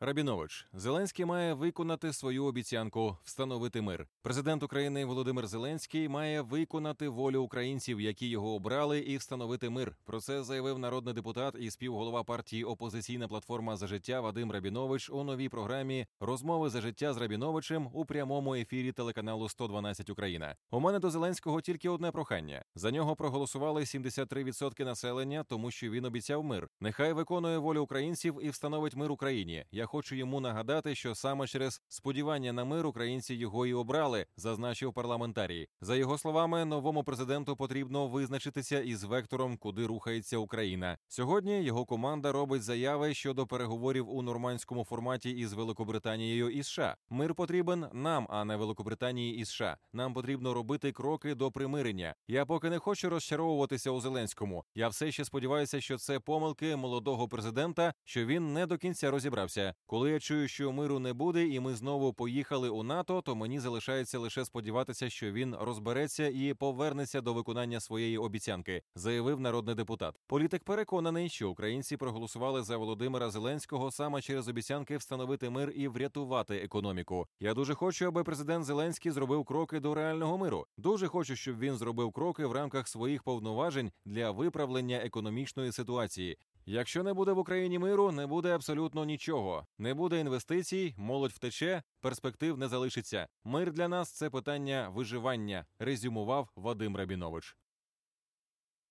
Рабінович. Зеленський має виконати свою обіцянку – встановити мир. Президент України Володимир Зеленський має виконати волю українців, які його обрали, і встановити мир. Про це заявив народний депутат і співголова партії «Опозиційна платформа за життя» Вадим Рабінович у новій програмі «Розмови за життя з Рабіновичем» у прямому ефірі телеканалу «112 Україна». У мене до Зеленського тільки одне прохання. За нього проголосували 73% населення, тому що він обіцяв мир. Нехай виконує волю українців і встановить мир Україні. Я хочу йому нагадати, що саме через сподівання на мир українці його і обрали, зазначив парламентарій. За його словами, новому президенту потрібно визначитися із вектором, куди рухається Україна. Сьогодні його команда робить заяви щодо переговорів у нормандському форматі із Великобританією і США. Мир потрібен нам, а не Великобританії і США. Нам потрібно робити кроки до примирення. Я поки не хочу розчаровуватися у Зеленському. Я все ще сподіваюся, що це помилки молодого президента, що він не до кінця розібрався. Коли я чую, що миру не буде і ми знову поїхали у НАТО, то мені залишається лише сподіватися, що він розбереться і повернеться до виконання своєї обіцянки, заявив народний депутат. Політик переконаний, що українці проголосували за Володимира Зеленського саме через обіцянки встановити мир і врятувати економіку. Я дуже хочу, аби президент Зеленський зробив кроки до реального миру. Дуже хочу, щоб він зробив кроки в рамках своїх повноважень для виправлення економічної ситуації. Якщо не буде в Україні миру, не буде абсолютно нічого. Не буде інвестицій, молодь втече, перспектив не залишиться. Мир для нас – це питання виживання, резюмував Вадим Рабінович.